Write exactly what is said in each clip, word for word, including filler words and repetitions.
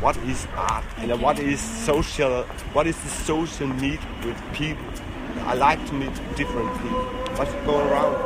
what is art and what is social, what is the social need with people. I like to meet different people. What's going around?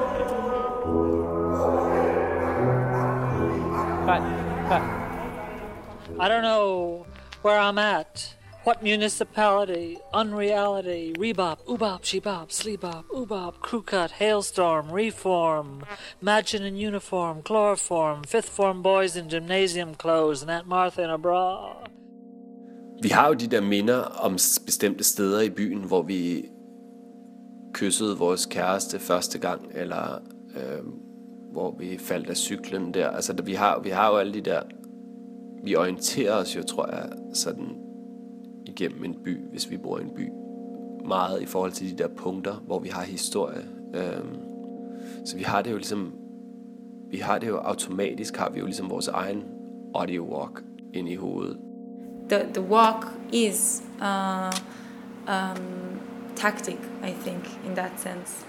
But, but I don't know where I'm at. What municipality, unreality, rebop, oobop, shebop, sleebop, oobop, crew cut, hailstorm, reform, imagine in uniform, chloroform, fifth form boys in gymnasium clothes, and Aunt Martha in a bra. Vi har jo de der minder om bestemte steder i byen, hvor vi kyssede vores kæreste første gang, eller øh, hvor vi faldt af cyklen der. Altså, vi har, vi har jo alle de der... Vi orienterer os jo, tror jeg, sådan igennem en by, hvis vi bor i en by. Meget i forhold til de der punkter, hvor vi har historie. Øh, så vi har det jo ligesom... Vi har det jo automatisk, har vi jo ligesom vores egen audio walk ind i hovedet. The, the walk is uh, um, tactic, I think, in that sense.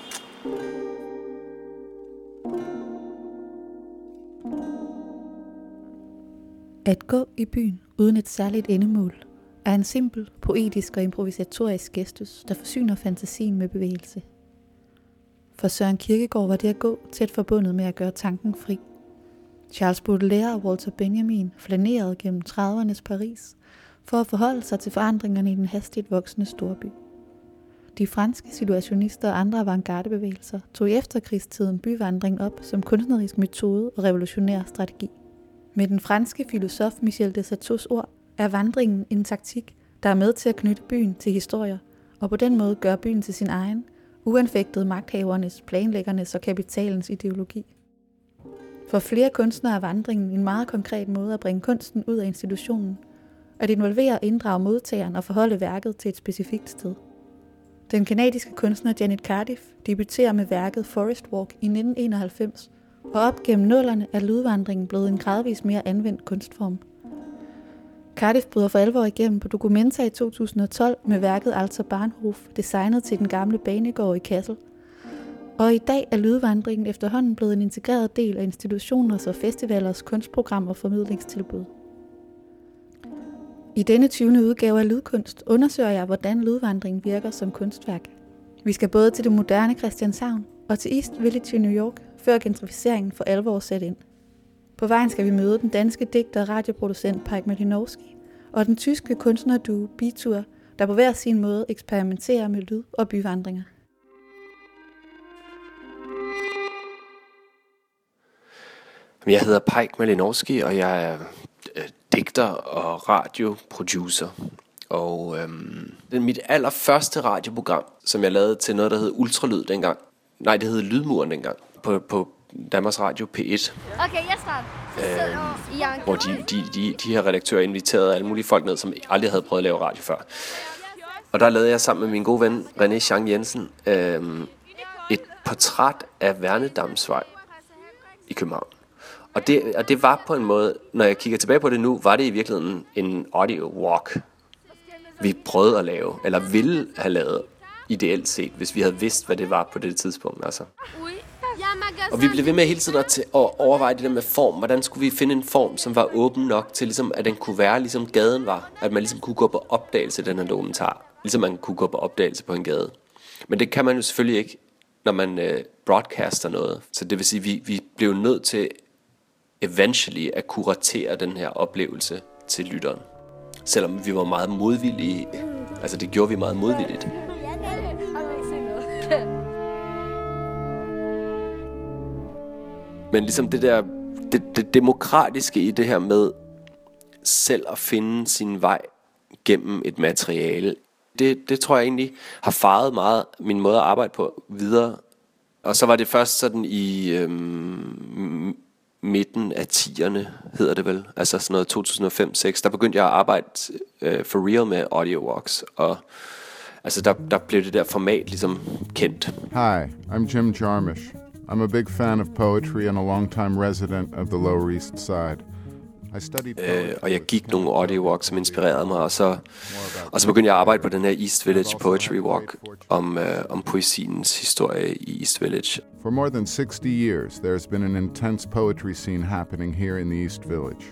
At gå i byen uden et særligt endemål er en simpel, poetisk og improvisatorisk gestus, der forsyner fantasien med bevægelse. For Søren Kierkegaard var det at gå tæt forbundet med at gøre tanken fri. Charles Baudelaire og Walter Benjamin flanerede gennem tredivernes Paris for at forholde sig til forandringerne i den hastigt voksende storby. De franske situationister og andre avantgardebevægelser tog i efterkrigstiden byvandring op som kunstnerisk metode og revolutionær strategi. Med den franske filosof Michel de Certeaus ord er vandringen en taktik, der er med til at knytte byen til historier, og på den måde gøre byen til sin egen, uanfægtet magthavernes, planlæggernes og kapitalens ideologi. For flere kunstnere er vandringen en meget konkret måde at bringe kunsten ud af institutionen, at involvere og inddrage modtageren og forholde værket til et specifikt sted. Den kanadiske kunstner Janet Cardiff debuterer med værket Forest Walk i nitten enoghalvfems, og op gennem nullerne er lydvandringen blevet en gradvist mere anvendt kunstform. Cardiff bryder for alvor igennem på Documenta i to tusind og tolv med værket Alter Bahnhof, designet til den gamle banegård i Kassel. Og i dag er lydvandringen efterhånden blevet en integreret del af institutioners og festivalers kunstprogram og formidlingstilbud. I denne tyvende udgave af Lydkunst undersøger jeg, hvordan lydvandringen virker som kunstværk. Vi skal både til det moderne Christianshavn og til East Village i New York, før gentrificeringen for alvor sætter ind. På vejen skal vi møde den danske digter og radioproducent Pike Malinowski og den tyske kunstnerduo Bitur, der på hver sin måde eksperimenterer med lyd og byvandringer. Jeg hedder Pike Malinowski, og jeg er øh, digter og radioproducer. Og øhm, det er mit allerførste radioprogram, som jeg lavede til noget, der hed Ultralyd dengang. Nej, det hed Lydmuren dengang, på, på Danmarks Radio P et. Okay, jeg starter. Øhm, hvor de, de, de, de her redaktører inviterede alle mulige folk ned, som aldrig havde prøvet at lave radio før. Og der lavede jeg sammen med min gode ven René Chang Jensen øhm, et portræt af Værnedamsvej i København. Og det, og det var på en måde, når jeg kigger tilbage på det nu, var det i virkeligheden en audio walk, vi prøvede at lave, eller ville have lavet ideelt set, hvis vi havde vidst, hvad det var på det tidspunkt. Altså. Og vi blev ved med hele tiden at, t- at overveje det der med form. Hvordan skulle vi finde en form, som var åben nok til, ligesom, at den kunne være, ligesom gaden var. At man ligesom kunne gå på opdagelse, den her dokumentar. Ligesom man kunne gå på opdagelse på en gade. Men det kan man jo selvfølgelig ikke, når man øh, broadcaster noget. Så det vil sige, at vi, vi blev nødt til eventually at kuratere den her oplevelse til lytteren. Selvom vi var meget modvillige. Altså det gjorde vi meget modvilligt. Men ligesom det der det, det demokratiske i det her med selv at finde sin vej gennem et materiale, det, det tror jeg egentlig har farvet meget min måde at arbejde på videre. Og så var det først sådan i øhm, midten af tierne, hedder det vel, altså sådan noget to tusind og fem til seks, der begyndte jeg at arbejde øh, for real med audio walks, og altså der, der blev det der format ligesom kendt. Hi, I'm Jim Jarmusch. I'm a big fan of poetry and a long-time resident of the Lower East Side. I studied øh, og jeg gik nogle audio walks, som inspirerede mig, og så, og så begyndte jeg at arbejde på den her East Village Poetry Walk, om, øh, om poesiens historie i East Village. For more than sixty years, there's been an intense poetry scene happening here in the East Village.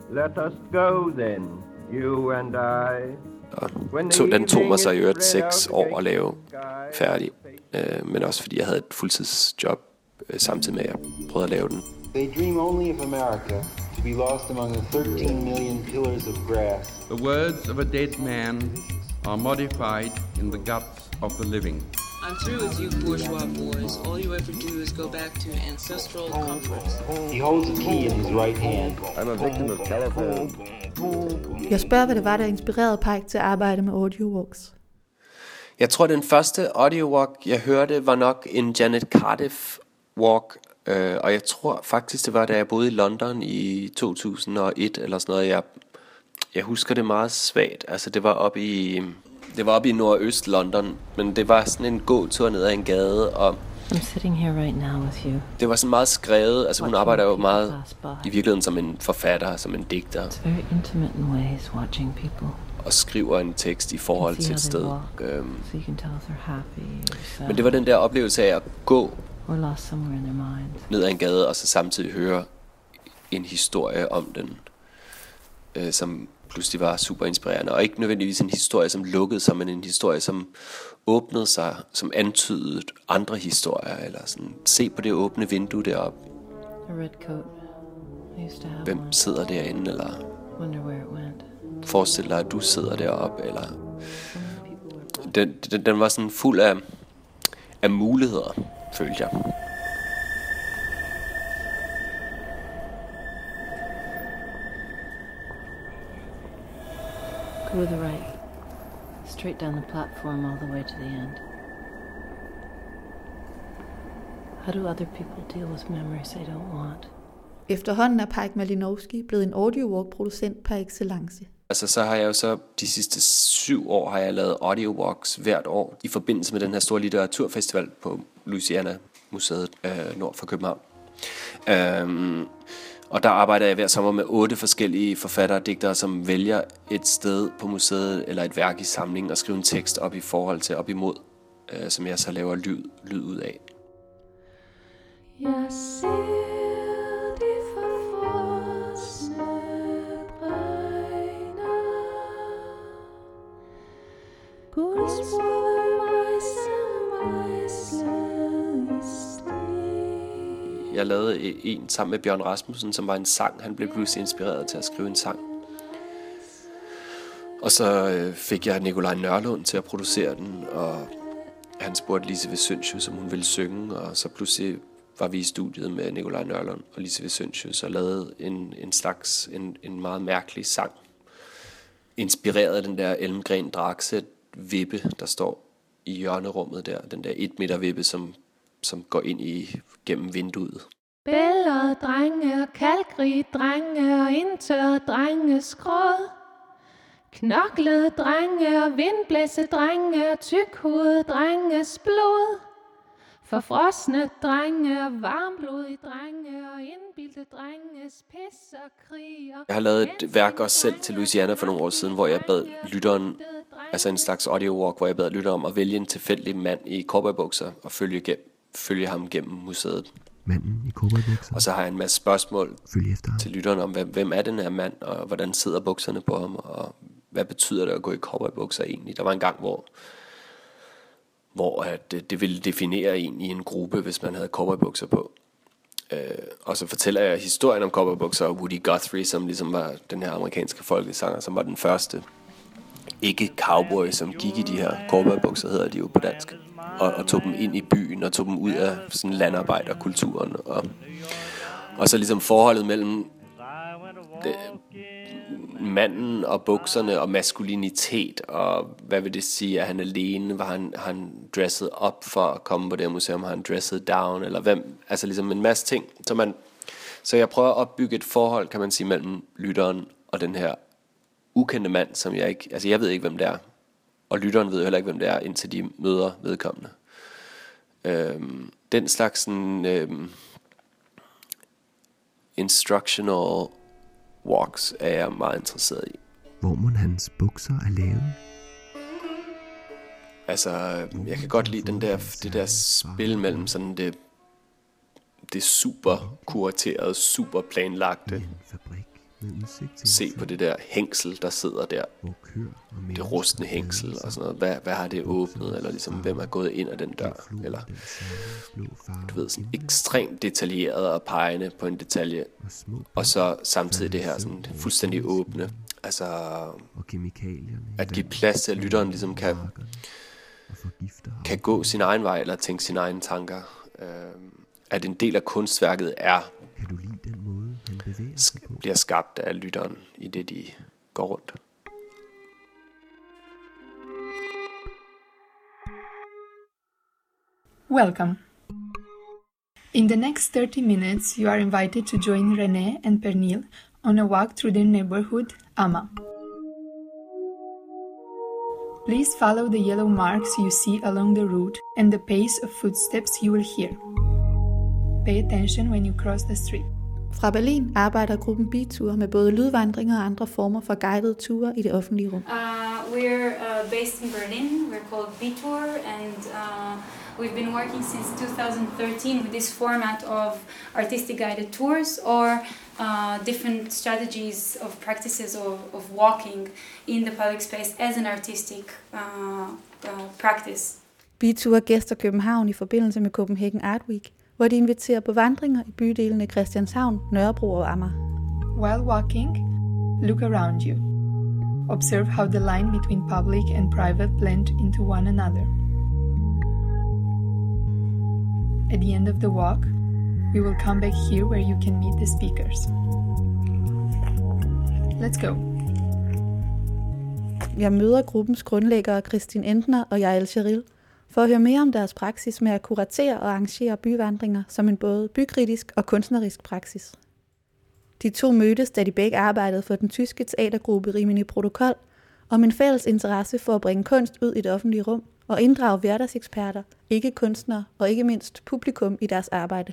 Let us go then, you and I. Og to, den tog mig så i øvrigt seks år at lave færdig, øh, men også fordi jeg havde et fuldtidsjob øh, samtidig med at jeg prøvede at lave den. They dream only of America, to be lost among the thirteen million pillars of grass. The words of a dead man are modified in the guts of the living. I'm through with you bourgeois boys. All you ever do is go back to ancestral comforts. He holds a key in his right hand. I'm a victim of telephone. Jeg spørger, hvad det var, der inspirerede Pike til at arbejde med audiowalks. Jeg tror, den første audiowalk, jeg hørte, var nok en Janet Cardiff walk. Øh, og jeg tror faktisk, det var, da jeg boede i London i to tusind og et eller sådan noget. Jeg, jeg husker det meget svagt. Altså, det var oppe i... Det var oppe i nordøst London, men det var sådan en gåtur ned ad en gade, og I'm sitting here right now with you. Det var sådan meget skrevet, altså hun arbejder jo meget i virkeligheden som en forfatter, som en digter. It's very intimate in ways, watching people. Og skriver en tekst i forhold til et sted. Øhm, so you can tell if they're happy or sad. Men det var den der oplevelse af at gå or lost somewhere in their minds. Ned ad en gade, og så samtidig høre en historie om den, øh, som pludselig var super inspirerende, og ikke nødvendigvis en historie, som lukkede sig, men en historie, som åbnede sig, som antydede andre historier, eller sådan, se på det åbne vindue deroppe. A red coat. I used to have Hvem one. sidder derinde, eller Wonder where it went. forestil dig, at du sidder deroppe, eller den, den, den var sådan fuld af, af muligheder, følte jeg. Go to the right. Straight down the platform all the way to the end. How do other people deal with memories they don't want? Efterhånden er Pike Malinowski blevet en audiowalk-producent par excellence. Altså så har jeg jo så de sidste syv år har jeg lavet audiowalks hvert år i forbindelse med den her store litteraturfestival på Louisiana Museet øh, nord for København. Øhm, og der arbejder jeg hver sommer med otte forskellige forfattere og digtere, som vælger et sted på museet eller et værk i samlingen og skriver en tekst op i forhold til op imod, øh, som jeg så laver lyd, lyd ud af. Jeg ser de forfrosne bregner, guldsmå mejsel mejslet i sten. Jeg lavede en sammen med Bjørn Rasmussen, som var en sang. Han blev pludselig inspireret til at skrive en sang. Og så øh, fik jeg Nikolaj Nørlund til at producere den, og han spurgte Lise Vesøntius, om hun ville synge, og så pludselig var vi i studiet med Nikolaj Nørlund og Lise Vesøntius og lavede en, en slags, en, en meget mærkelig sang. Inspireret af den der Elmgren Dragset vippe, der står i hjørnerummet der. Den der et meter vippe, som, som går ind i gennem vinduet. Bælgede drenge, kalkrige drenge og indtørrede drenge skråd. Knoklede drenge og vindblæse drenge og tykhovede drenges blod. Forfrosne drenge og varmblodige drenge og indbildte drenges pis og krig. Jeg har lavet et værk også selv til Louisiana for nogle år siden, hvor jeg bad lytteren, altså en slags audio walk, hvor jeg bad lytteren om at vælge en tilfældig mand i cowboybukser og følge, gennem, følge ham gennem museet. Manden i cowboybukser. Og så har jeg en masse spørgsmål efter til lytteren om, hvem, hvem er den her mand, og hvordan sidder bukserne på ham, og hvad betyder det at gå i cowboybukser egentlig? Der var en gang, hvor, hvor at det, det ville definere en i en gruppe, hvis man havde cowboybukser på. Øh, og så fortæller jeg historien om cowboybukser og Woody Guthrie, som ligesom var den her amerikanske folkesanger, som var den første ikke-cowboy, som gik i de her cowboybukser, hedder de jo på dansk, og, og tog dem ind i byen, og tog dem ud af sådan landarbejderkulturen, og, og så ligesom forholdet mellem det, manden og bukserne og maskulinitet, og hvad vil det sige, at han alene, var han, han dresset op for at komme på det her museum, har han dresset down, eller hvem, altså ligesom en masse ting, så man, så jeg prøver at opbygge et forhold, kan man sige, mellem lytteren og den her ukendte mand, som jeg ikke, altså jeg ved ikke, hvem det er, og lytteren ved heller ikke, hvem det er, indtil de møder vedkommende. Øhm, den slags sådan, øhm, instructional walks er jeg meget interesseret i. Hvor må hans bukser er lavet? Altså, jeg kan godt lide den der, det der spil mellem sådan det, det super kuraterede, super planlagte, se på det der hængsel, der sidder der. Det rustne hængsel og sådan noget. Hvad, hvad har det åbnet? Eller ligesom, hvem er gået ind ad den dør? Eller, du ved, sådan ekstremt detaljeret og pegende på en detalje. Og så samtidig det her sådan fuldstændig åbne. Altså, at give plads til, at lytteren ligesom kan, kan gå sin egen vej, eller tænke sine egne tanker. At en del af kunstværket er bliver skabt af lytteren i det, de går rundt. Welcome. In the next thirty minutes, you are invited to join René and Pernille on a walk through their neighborhood, Ama. Please follow the yellow marks you see along the route and the pace of footsteps you will hear. Pay attention when you cross the street. Fra Berlin arbejder gruppen Bitour med både lydvandringer og andre former for guidede ture i det offentlige rum. Uh, we're uh, based in Berlin. We're called Bitour, and uh, we've been working since two thousand thirteen with this format of artistic guided tours or uh, different strategies of practices of, of walking in the public space as an artistic uh, uh, practice. Bitour gæster København i forbindelse med Copenhagen Art Week, hvor de inviterer på vandringer i bydelene Christianshavn, Nørrebro og Amager. While walking, look around you. Observe how the line between public and private blend into one another. At the end of the walk, we will come back here where you can meet the speakers. Let's go. Jeg møder gruppens grundlæggere Christine Entner og Yael Cheril for at høre mere om deres praksis med at kuratere og arrangere byvandringer som en både bykritisk og kunstnerisk praksis. De to mødtes, da de begge arbejdede for den tyske teatergruppe Rimini Protokol, om en fælles interesse for at bringe kunst ud i det offentlige rum og inddrage hverdagseksperter, ikke kunstnere og ikke mindst publikum i deres arbejde.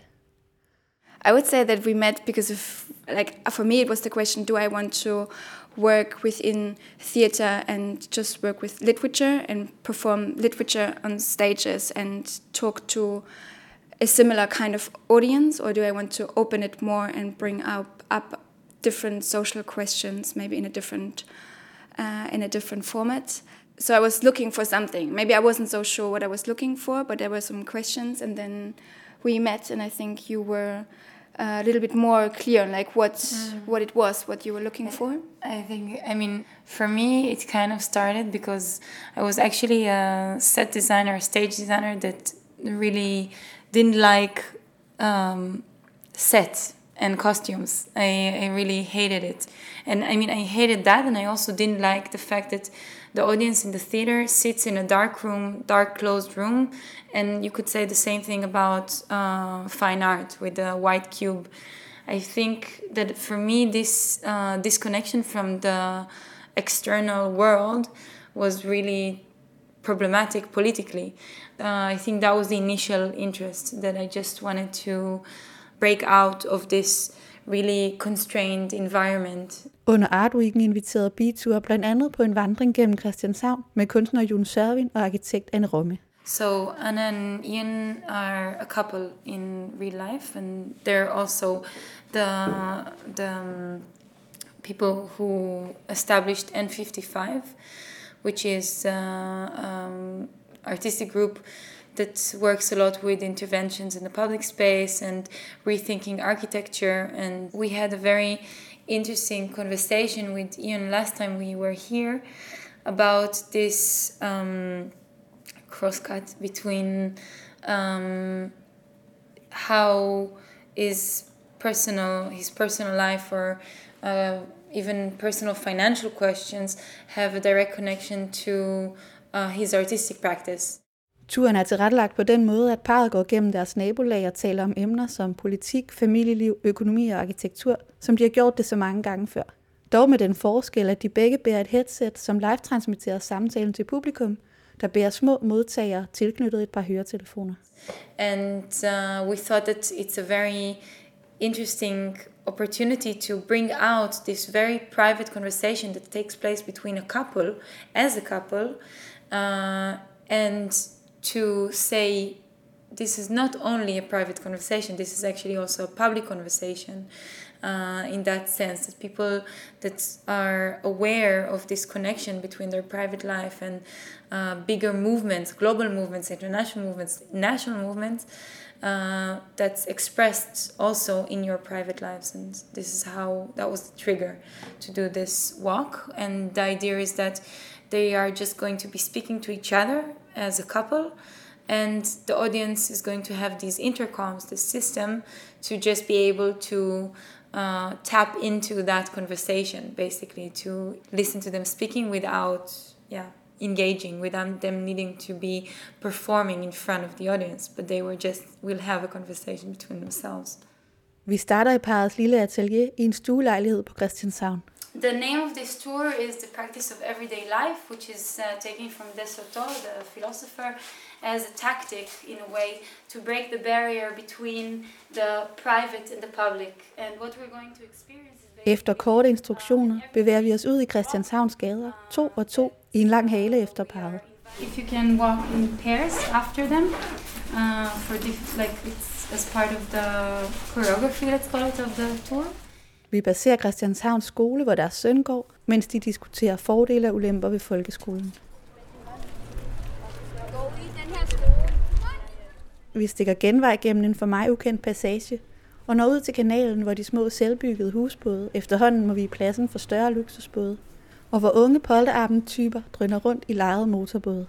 I would say that we met because of, like, for me it was the question, do I want to work within theater and just work with literature and perform literature on stages and talk to a similar kind of audience, or do I want to open it more and bring up, up different social questions, maybe in a different uh, in a different format? So I was looking for something. Maybe I wasn't so sure what I was looking for, but there were some questions, and then we met, and I think you were a little bit more clear on like what mm. what it was, what you were looking for. I think, I mean, for me, it kind of started because I was actually a set designer, a stage designer that really didn't like um, set and costumes. I, I really hated it. And I mean, I hated that, and I also didn't like the fact that the audience in the theater sits in a dark room, dark closed room, and you could say the same thing about uh, fine art with the white cube. I think that for me, this uh, disconnection from the external world was really problematic politically. Uh, I think that was the initial interest, that I just wanted to break out of this really constrained environment. Under Art Weeken inviterede Bitour blandt andet på en vandring gennem Christianshavn med kunstner Jon Sørvin og arkitekt Anne Romme. So Anna and Ian are a couple in real life, and they're also the the um, people who established N fifty-five, which is a um, artistic group that works a lot with interventions in the public space and rethinking architecture. And we had a very interesting conversation with Ian last time we were here about this um, crosscut between um, how is personal, his personal life or uh, even personal financial questions have a direct connection to uh, his artistic practice. Turen er tilrettelagt på den måde, at parret går gennem deres nabolag og taler om emner som politik, familieliv, økonomi og arkitektur, som de har gjort det så mange gange før. Dog med den forskel, at de begge bærer et headset, som live-transmitterer samtalen til publikum, der bærer små modtagere tilknyttet et par høretelefoner. And uh, we thought that it's a very interesting opportunity to bring out this very private conversation that takes place between a couple, as a couple, uh, and to say this is not only a private conversation, this is actually also a public conversation. Uh, in that sense, that people that are aware of this connection between their private life and uh, bigger movements, global movements, international movements, national movements, uh, that's expressed also in your private lives. And this is how, that was the trigger to do this walk. And the idea is that they are just going to be speaking to each other as a couple, and the audience is going to have these intercoms, this system, to just be able to Uh, tap into that conversation, basically, to listen to them speaking without, yeah, engaging, without them needing to be performing in front of the audience, but they were just, will have a conversation between themselves. Vi starter i parrets lille atelier i en stuelejlighed på Christianshavn. The name of this tour is The Practice of Everyday Life, which is uh, taken from Desautor, the philosopher, as a tactic, in a way, to break the barrier between the private and the public. And what we're going to experience is... Efter korte instruktioner bevæger vi os ud i Christianshavns gader, to og to, i en lang hale efter parret. If you can walk in pairs after them, uh, for diff- like it's as part of the choreography, let's call it, of the tour. Vi passerer Christianshavns skole, hvor deres søn går, mens de diskuterer fordele og ulemper ved folkeskolen. Vi stikker genvej gennem en for mig ukendt passage, og når ud til kanalen, hvor de små selvbyggede husbåde efterhånden må vi i pladsen for større luksusbåde, og hvor unge polterabend-typer drøner rundt i lejede motorbåde.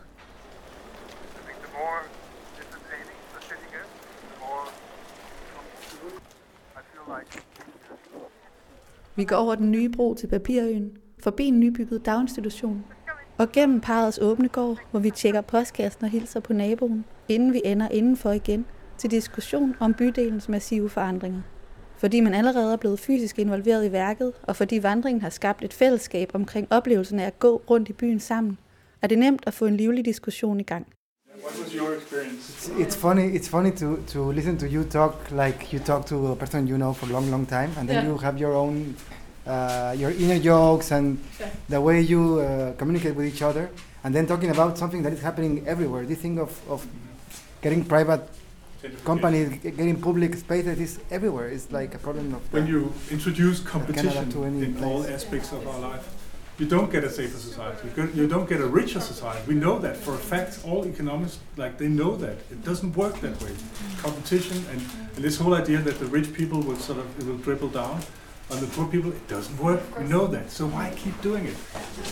Vi går over den nye bro til Papirøen, forbi en nybygget daginstitution, og gennem parrets åbne gård, hvor vi tjekker postkassen og hilser på naboen, inden vi ender indenfor igen til diskussion om bydelens massive forandringer. Fordi man allerede er blevet fysisk involveret i værket, og fordi vandringen har skabt et fællesskab omkring oplevelsen af at gå rundt i byen sammen, er det nemt at få en livlig diskussion i gang. What was your experience? It's, it's funny. It's funny to, to listen to you talk like you talk to a person you know for a long, long time, and then yeah. you have your own, uh, your inner jokes and yeah. the way you uh, communicate with each other, and then talking about something that is happening everywhere. This thing of, of getting private companies, getting public spaces is everywhere. It's like a problem of when you introduce competition in place. all aspects of our life. You don't get a safer society. You don't get a richer society. We know that for a fact. All economists, like, they know that it doesn't work that way. Competition and, and this whole idea that the rich people will sort of it will dribble down on the poor people, it doesn't work. We know that. So why keep doing it?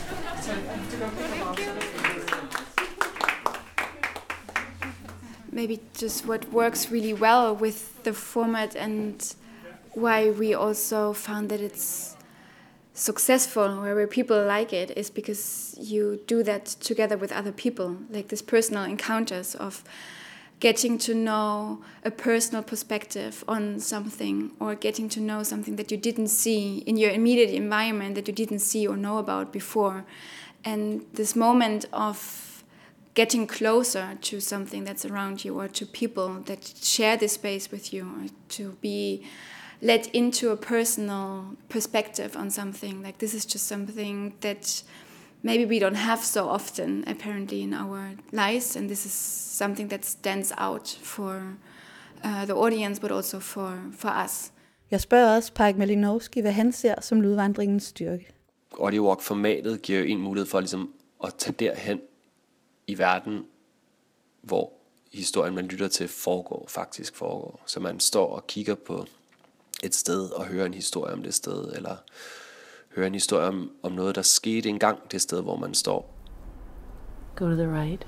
Maybe just what works really well with the format and why we also found that it's successful, where people like it, is because you do that together with other people, like this personal encounters of getting to know a personal perspective on something, or getting to know something that you didn't see in your immediate environment, that you didn't see or know about before. And this moment of getting closer to something that's around you, or to people that share this space with you, or to be let into a personal perspective on something. Like, this is just something that maybe we don't have so often, apparently, in our lives, and this is something that stands out for uh, the audience, but also for, for us. Jeg spørger også Pajk Malinowski, hvad han ser som lydvandringens styrke. Audiowalk-formatet giver jo en mulighed for ligesom at tage derhen i verden, hvor historien, man lytter til, foregår, faktisk foregår. Så man står og kigger på et sted og hører en historie om det sted, eller hører en historie om, om noget, der skete engang det sted, hvor man står. Go to the right.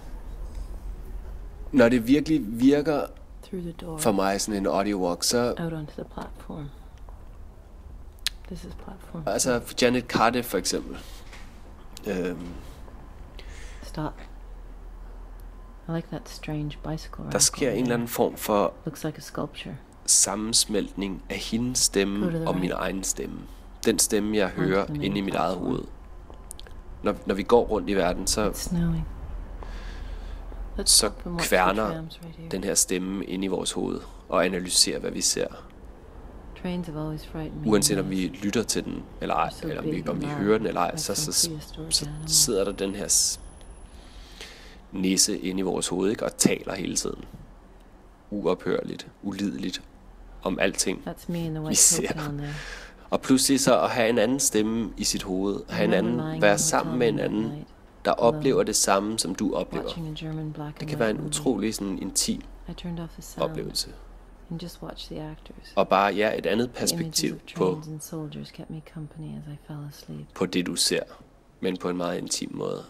Når det virkelig virker Through the door. For mig sådan en audiowalk, så out onto the platform. This is platform. Altså Janet Cardiff for eksempel. Øhm, Stop. I like that strange bicycle. Der sker en eller anden form for looks like a sculpture. Sammensmeltning af hendes stemme og right. min egen stemme. Den stemme, jeg hører inde i mit eget hoved. Når, når vi går rundt i verden, så, så kværner den her stemme inde i vores hoved og analyserer, hvad vi ser. Uanset om vi lytter til den eller ej, eller om vi, om vi hører den eller ej, så, så, så, så sidder der den her næse inde i vores hoved, ikke, og taler hele tiden. uophørligt, ulideligt om alting, That's me in the vi white ser. coat down there. Og pludselig så at have en anden stemme i sit hoved, have en anden, være sammen med en anden, der oplever det samme, som du oplever. Det kan være en utrolig sådan intim oplevelse. And just watch the actors. Og bare ja, et andet perspektiv på, Kept me company as I fell asleep. på det, du ser, men på en meget intim måde.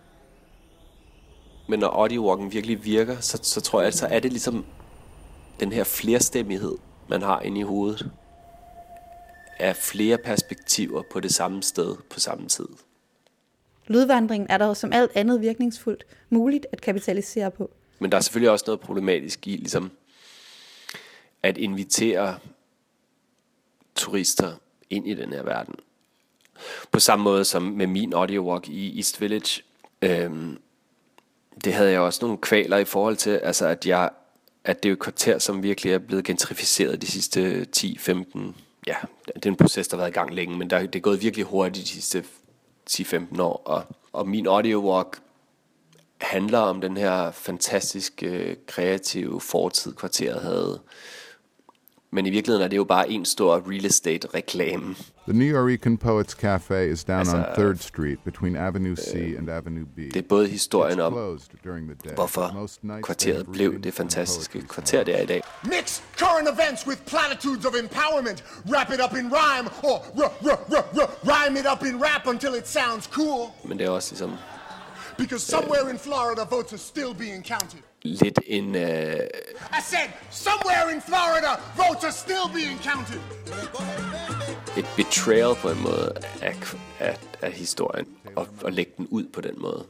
Men når audiowalken virkelig virker, så, så tror jeg, så er det ligesom den her flerstemmighed, man har inde i hovedet, af flere perspektiver på det samme sted på samme tid. Lydvandringen er dog som alt andet virkningsfuldt muligt at kapitalisere på. Men der er selvfølgelig også noget problematisk i ligesom at invitere turister ind i den her verden. På samme måde som med min audiowalk i East Village. Øhm, det havde jeg også nogle kvaler i forhold til, altså at jeg at det er jo et kvarter, som virkelig er blevet gentrificeret de sidste ti femten, ja, det er en proces, der har været i gang længe, men der, det er gået virkelig hurtigt de sidste ti femten år, og, og min audiowalk handler om den her fantastiske, kreative fortid, kvarteret havde. Men i virkeligheden er det jo bare en stor real estate reklame. The Nuyorican Poets Cafe is down altså, on third Street between Avenue C øh, and Avenue B. Det er både historien om, hvorfor kvarteret blev det fantastiske kvarter, det er i dag. Mix current events with platitudes of empowerment. Wrap it up in rhyme or r- r- r- r- rhyme it up in rap until it sounds cool. Men det er også ligesom because somewhere in Florida votes are still being counted. Lidt en uh... I said somewhere in Florida votes are still being counted. Et betrayal på en måde af, af, af historien og, og lægge den ud på den måde.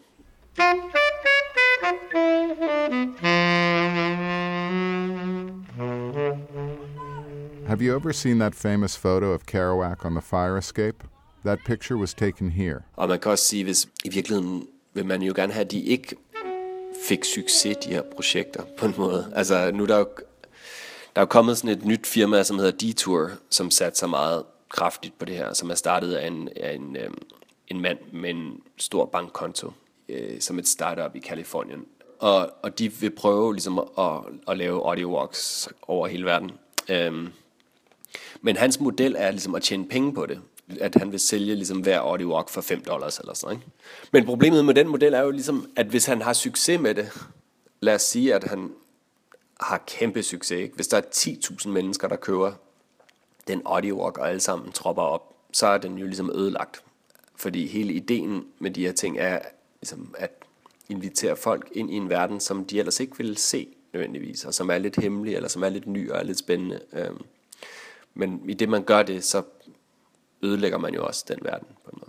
Have you ever seen that famous photo of Kerouac on the fire escape? That picture was taken here. Og man kan også sige, hvis i virkeligheden vil man jo gerne have, at de ikke fik succes, de her projekter, på en måde. Altså, nu er der jo, der er jo kommet sådan et nyt firma, som hedder Detour, som satte sig meget kraftigt på det her, som er startet af en, af en, øhm, en mand med en stor bankkonto, øh, som et startup i Kalifornien. Og, og de vil prøve ligesom at, at lave audiowalks over hele verden. Øhm, men hans model er ligesom at tjene penge på det. At han vil sælge ligesom hver audiowalk for fem dollars eller sådan, ikke? Men problemet med den model er jo ligesom, at hvis han har succes med det, lad os sige, at han har kæmpe succes, ikke? Hvis der er ti tusind mennesker, der køber den audiowalk, og alle sammen tropper op, så er den jo ligesom ødelagt. Fordi hele ideen med de her ting er ligesom at invitere folk ind i en verden, som de ellers ikke vil se nødvendigvis, og som er lidt hemmelig, eller som er lidt ny og er lidt spændende. Men i det man gør det, så ødelægger man jo også den verden på en måde.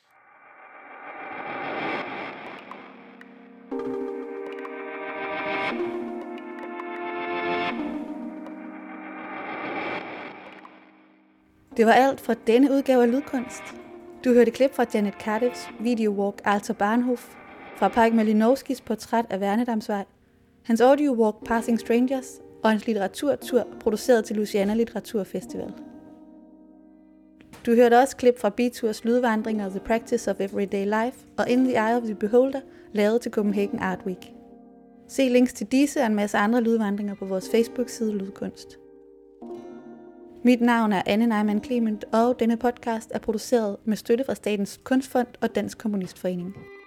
Det var alt fra denne udgave af Lydkunst. Du hørte klip fra Janet Cardiffs videowalk Alter Bahnhof, fra Pike Malinowskis portræt af Værnedamsvej, hans audiowalk Passing Strangers og hans litteraturtur produceret til Louisiana Litteraturfestival. Du hørte også klip fra B-Tours lydvandringer The Practice of Everyday Life og In the Eye of the Beholder, lavet til Copenhagen Art Week. Se links til disse og en masse andre lydvandringer på vores Facebook-side Lydkunst. Mit navn er Anne Neumann Clement, og denne podcast er produceret med støtte fra Statens Kunstfond og Dansk Kommunistforening.